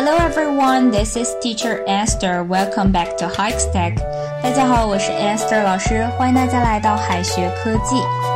Hello everyone, this is Teacher Esther. Welcome back to Hikestack. 大家好，我是 Esther 老师，欢迎大家来到海学科技。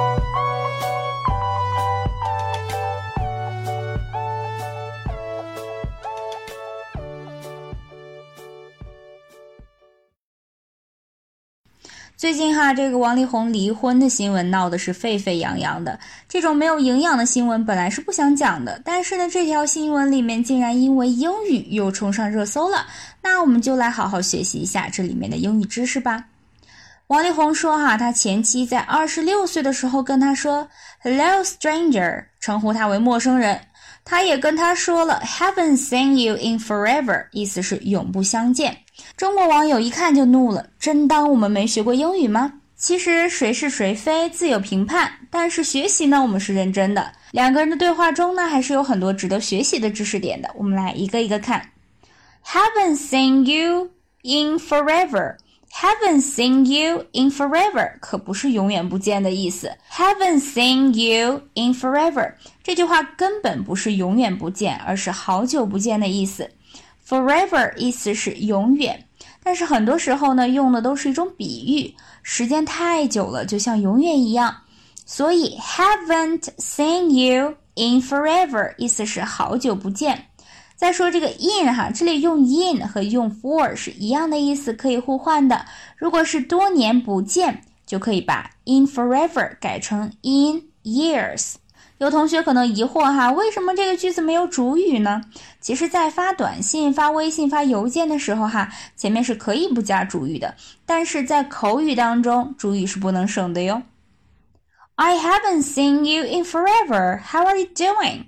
最近这个王力宏离婚的新闻闹的是沸沸扬扬的。这种没有营养的新闻本来是不想讲的，但是呢，这条新闻里面竟然因为英语又冲上热搜了。那我们就来好好学习一下这里面的英语知识吧。王力宏说他前妻在26岁的时候跟他说 Hello stranger， 称呼他为陌生人。他也跟他说了 Haven't seen you in forever， 意思是永不相见。中国网友一看就怒了，真当我们没学过英语吗？其实谁是谁非自有评判，但是学习呢我们是认真的。两个人的对话中呢还是有很多值得学习的知识点的，我们来一个一个看。Haven't seen you in forever， Haven't seen you in forever 可不是永远不见的意思。 Haven't seen you in forever 这句话根本不是永远不见，而是好久不见的意思。Forever 意思是永远，但是很多时候呢用的都是一种比喻，时间太久了就像永远一样，所以 haven't seen you in forever 意思是好久不见。再说这个 in 这里用 in 和用 for 是一样的意思，可以互换的。如果是多年不见，就可以把 in forever 改成 in years。有同学可能疑惑为什么这个句子没有主语呢？其实在发短信、发微信、发邮件的时候前面是可以不加主语的，但是在口语当中主语是不能省的哟。I haven't seen you in forever. How are you doing?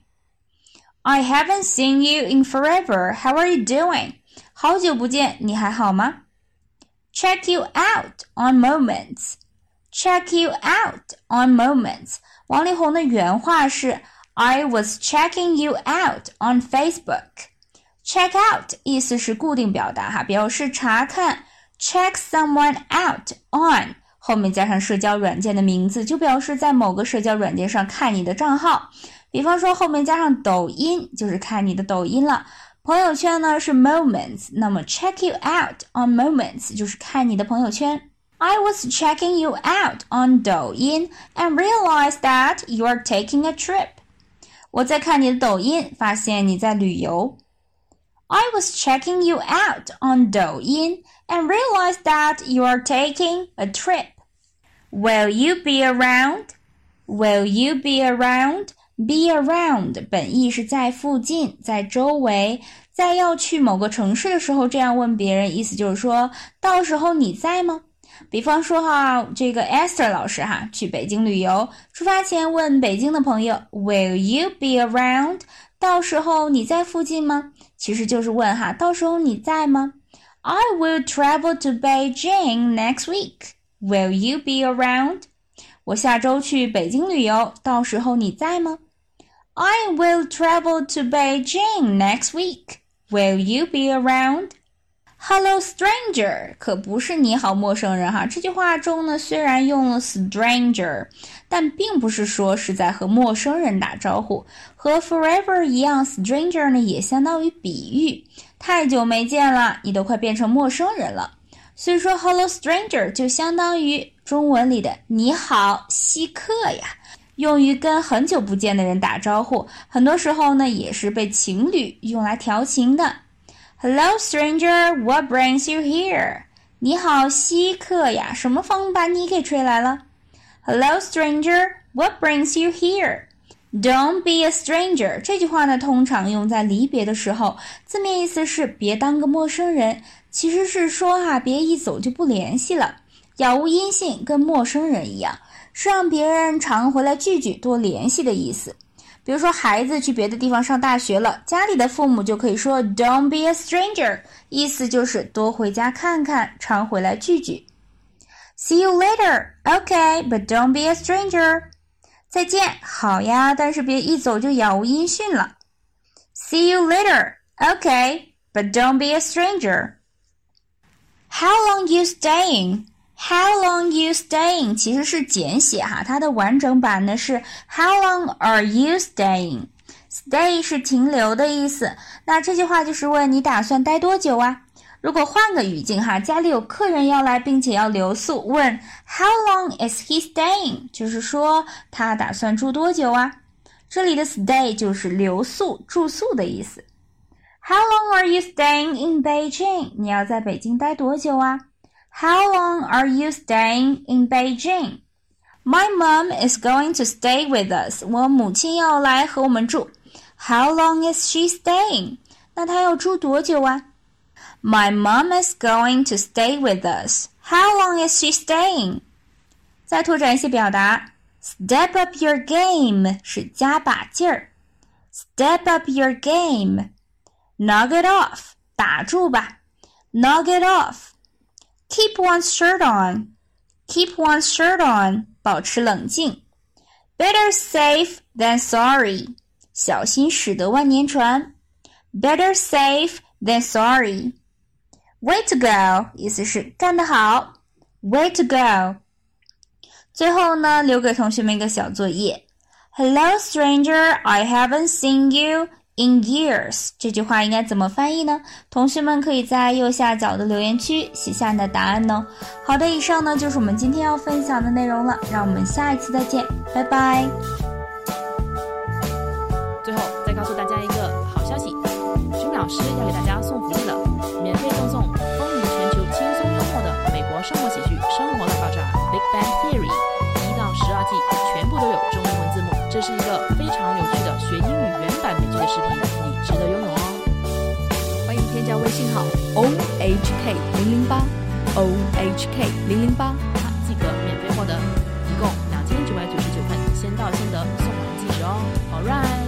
I haven't seen you in forever. How are you doing? 好久不见，你还好吗？ Check you out on moments. Check you out on moments.王力宏的原话是 I was checking you out on Facebook. Check out 意思是固定表达表示查看。Check someone out on 后面加上社交软件的名字，就表示在某个社交软件上看你的账号。比方说后面加上抖音，就是看你的抖音了。朋友圈呢是 moments， 那么 check you out on moments 就是看你的朋友圈。I was checking you out on 抖音 and realized that you are taking a trip. 我在看你的抖音，发现你在旅游。I was checking you out on 抖音 and realized that you are taking a trip. Will you be around? Will you be around? Be around 本意是在附近，在周围。在要去某个城市的时候这样问别人，意思就是说到时候你在吗？比方说这个 Esther 老师去北京旅游，出发前问北京的朋友 Will you be around? 到时候你在附近吗？其实就是问到时候你在吗？ I will travel to Beijing next week. Will you be around? 我下周去北京旅游，到时候你在吗？ I will travel to Beijing next week. Will you be around?Hello stranger 可不是你好陌生人这句话中呢虽然用了 stranger， 但并不是说是在和陌生人打招呼。和 forever 一样 stranger 呢也相当于比喻，太久没见了，你都快变成陌生人了。所以说 hello stranger 就相当于中文里的你好稀客呀，用于跟很久不见的人打招呼，很多时候呢也是被情侣用来调情的。Hello stranger, what brings you here? 你好稀客呀，什么风把你给吹来了？ Hello stranger, what brings you here? Don't be a stranger 这句话呢通常用在离别的时候，字面意思是别当个陌生人，其实是说别一走就不联系了，杳无音信，跟陌生人一样，是让别人常回来聚聚，多联系的意思。比如说孩子去别的地方上大学了，家里的父母就可以说 Don't be a stranger， 意思就是多回家看看，常回来聚聚。 See you later, okay, but don't be a stranger。 再见，好呀，但是别一走就杳无音讯了。 See you later, okay, but don't be a stranger。 How long you staying?How long you staying 其实是简写它的完整版呢是 How long are you staying? Stay 是停留的意思，那这句话就是问你打算待多久啊？如果换个语境哈，家里有客人要来并且要留宿，问 How long is he staying？ 就是说他打算住多久啊？这里的 stay 就是留宿、住宿的意思。How long are you staying in Beijing？ 你要在北京待多久啊？ How long are you staying in Beijing？ My mom is going to stay with us. 我母亲要来和我们住。How long is she staying？ 那她要住多久啊？ My mom is going to stay with us. How long is she staying？ 再拓展一些表达。Step up your game 是加把劲儿。Step up your game。Knock it off 打住吧。Knock it off。Keep one's shirt on. Keep one's shirt on 保持冷静。Better safe than sorry 小心驶得万年船。Better safe than sorry。 Way to go 意思是干得好。Way to go。 最后呢，留给同学们一个小作业。 Hello stranger, I haven't seen you in years 这句话应该怎么翻译呢？同学们可以在右下角的留言区写下你的答案哦。好的，以上呢就是我们今天要分享的内容了，让我们下一次再见，拜拜。 最后再告诉大家一个好消息，君老师要给大家送福利了，免费赠送风靡全球轻松幽默的美国生活喜剧《生活大爆炸》 Big Bang Theory 1到12季全部都有中英文字幕，这是一个非常有趣的学英语原版美剧的视频，你值得拥有哦。欢迎添加微信号 OHK008 OHK008，即可免费获得一共2999份先到先得送完即止哦。Alright。